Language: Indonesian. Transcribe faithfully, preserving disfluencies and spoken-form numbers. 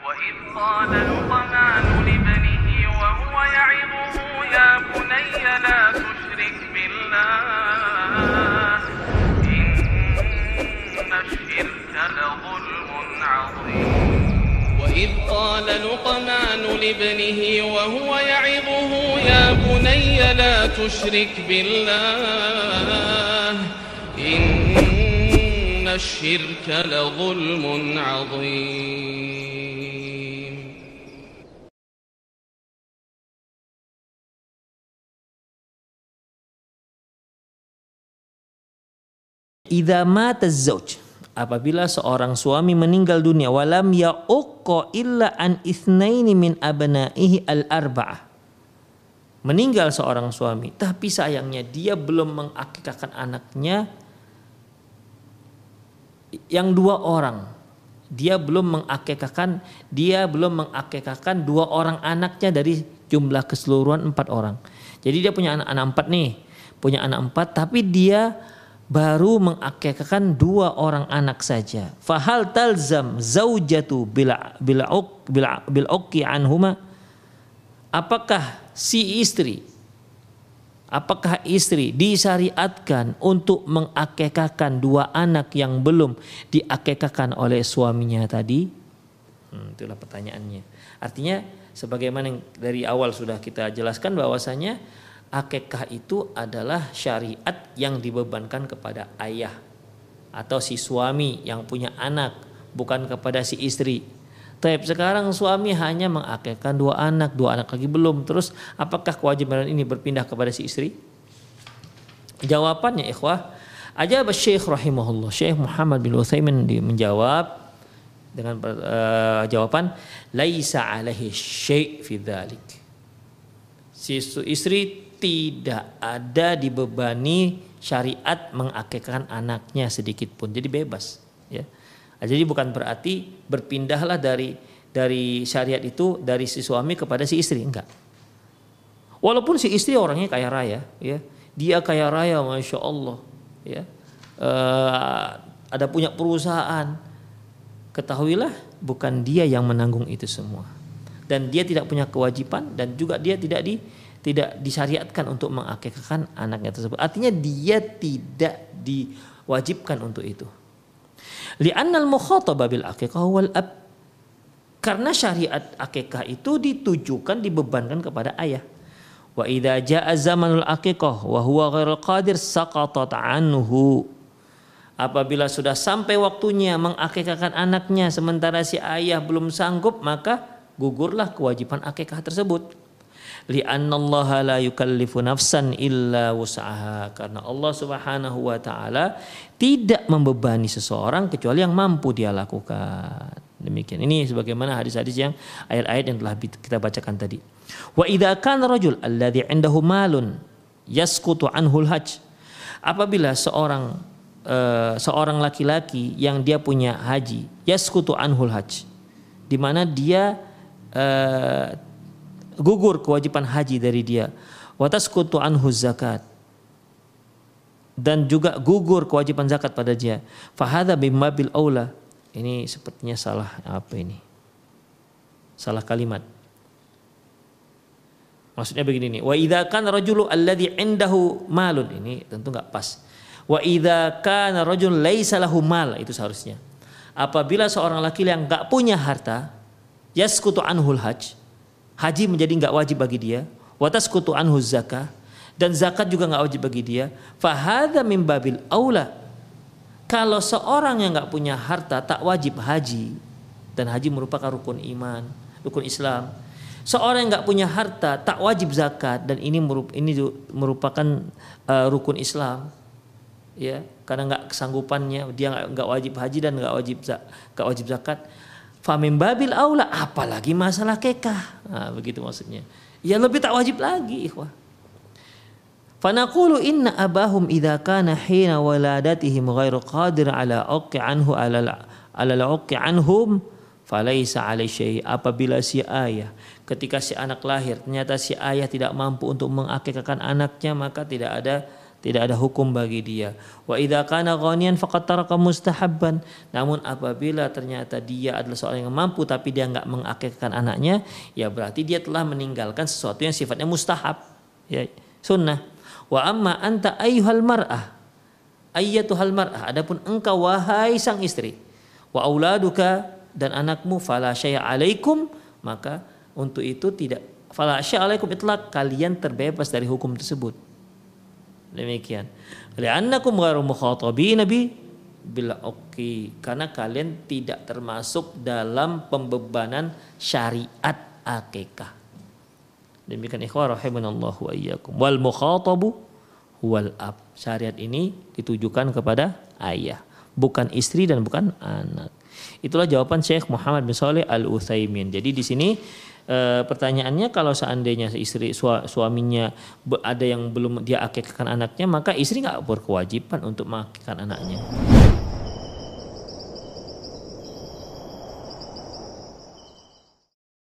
وإذ قال لقمان لابنه وهو يعظه يا بني لا تشرك بالله إن الشرك لظلم عظيم وإذ قال لقمان لابنه وهو يعظه يا بني لا تشرك بالله إن الشرك لظلم عظيم. Idza mata az-zauj, apabila seorang suami meninggal dunia, walam ya'uqqa illa an itsnaini min abnaihi al-arba'ah. Meninggal seorang suami, tapi sayangnya dia belum mengakikahkan anaknya yang dua orang. Dia belum mengakikahkan, dia belum mengakikahkan dua orang anaknya dari jumlah keseluruhan empat orang. Jadi dia punya anak-anak empat nih, punya anak empat, tapi dia baru mengakikahkan dua orang anak saja. Fahal talzam zaujatu bila bila bila bil uqi anhuma? Apakah si istri, apakah istri disyariatkan untuk mengakikahkan dua anak yang belum diakikahkan oleh suaminya tadi? Hmm, itulah pertanyaannya. Artinya sebagaimana yang dari awal sudah kita jelaskan bahwasanya akikah itu adalah syariat yang dibebankan kepada ayah atau si suami yang punya anak, bukan kepada si istri. Tapi sekarang suami hanya mengakikahkan dua anak, dua anak lagi belum. Terus apakah kewajiban ini berpindah kepada si istri? Jawabannya ikhwah, ajab Syekh rahimahullah, Syekh Muhammad bin Utsaimin menjawab dengan uh, jawaban laisa alaihi syai' fi dzalik. Si istri tidak ada dibebani syariat mengakikahkan anaknya sedikit pun, jadi bebas ya. Jadi bukan berarti berpindahlah dari dari syariat itu dari si suami kepada si istri, enggak. Walaupun si istri orangnya kaya raya ya, dia kaya raya masya Allah ya, e, ada punya perusahaan, ketahuilah bukan dia yang menanggung itu semua, dan dia tidak punya kewajiban, dan juga dia tidak di tidak disyariatkan untuk mengakikahkan anaknya tersebut. Artinya dia tidak diwajibkan untuk itu. Li'annal mukhataba bil aqiqah wal ab. Karena syariat akikah itu ditujukan, dibebankan kepada ayah. Wa idza jaa zamanul aqiqah wa huwa ghairul qadir saqatat anhu. Apabila sudah sampai waktunya mengakikahkan anaknya sementara si ayah belum sanggup, maka gugurlah kewajiban akikah tersebut. Li'annallaha la yukallifu nafsan illa wus'aha, karena Allah Subhanahu wa taala tidak membebani seseorang kecuali yang mampu dia lakukan. Demikian. Ini sebagaimana hadis-hadis yang ayat-ayat yang telah kita bacakan tadi. Wa idza kana rajul alladhi 'indahu malun yasqutu anhul hajj. Apabila seorang uh, seorang laki-laki yang dia punya haji, yasqutu anhul hajj, di mana dia uh, gugur kewajiban haji dari dia, wa tasqutu anhu zakat, dan juga gugur kewajiban zakat pada dia, fa hadza bimmabil aula. Ini sepertinya salah apa ini? Salah kalimat. Maksudnya begini nih, wa idza kana rajulu alladhi indahu malun, ini tentu enggak pas. Wa idza kana rajul laisa lahu mal, itu seharusnya. Apabila seorang laki yang enggak punya harta, yasqutu anhul hajj, haji menjadi enggak wajib bagi dia, wa tasqutu anhu zakah, dan zakat juga enggak wajib bagi dia, fa hadza min babil aula. Kalau seorang yang enggak punya harta tak wajib haji, dan haji merupakan rukun iman, rukun Islam. Seorang yang enggak punya harta tak wajib zakat, dan ini merupakan uh, rukun Islam. Ya, karena enggak kesanggupannya dia enggak wajib haji dan enggak wajib enggak wajib zakat. Famin babil aula, apalagi masalah kekah. Nah, begitu maksudnya. Ya lebih tak wajib lagi, ikhwah. Fanaqulu inna abahum idza kana hina waladatihim ghairu qadir ala uqi anhu ala ala uqi anhum falaisa alai syai. Apabila si ayah ketika si anak lahir ternyata si ayah tidak mampu untuk mengakikahkan anaknya, maka tidak ada tidak ada hukum bagi dia. Wa idza kana ghaniyan faqad taraka mustahabban. Namun apabila ternyata dia adalah seorang yang mampu tapi dia enggak mengakikahkan anaknya, ya berarti dia telah meninggalkan sesuatu yang sifatnya mustahab, ya, sunnah. Wa amma anta ayyuhal mar'ah, ayyatuhal mar'ah, adapun engkau wahai sang istri, wa auladuka, dan anakmu, fala syai'a alaikum, maka untuk itu tidak, fala syai'a alaikum itlaq, kalian terbebas dari hukum tersebut. Demikian. Li'annakum ghairu mukhatabina bi bil uqi, karena kalian tidak termasuk dalam pembebanan syariat akikah. Demikian ikhwah rahimanallahu wa iyyakum. Wal mukhatabu wal ab. Syariat ini ditujukan kepada ayah, bukan istri dan bukan anak. Itulah jawaban Syekh Muhammad bin Shalih Al-Utsaimin. Jadi di sini e, pertanyaannya, kalau seandainya istri suaminya ada yang belum dia akikahkan anaknya, maka istri nggak berkewajiban untuk mengakikahkan anaknya.